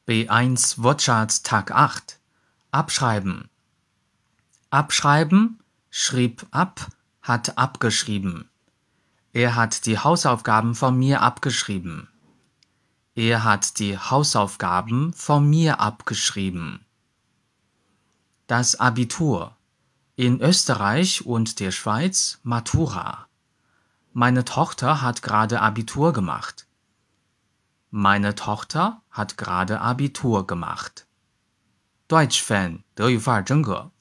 B1 Wortschatz Tag 8. Abschreiben. Abschreiben, schrieb ab, hat abgeschrieben. Er hat die Hausaufgaben von mir abgeschrieben. Er hat die Hausaufgaben von mir abgeschrieben. Das Abitur. In Österreich und der Schweiz Matura. Meine Tochter hat gerade Abitur gemacht. Meine Tochter hat gerade Abitur gemacht. Deutsch Fan 德语范儿真格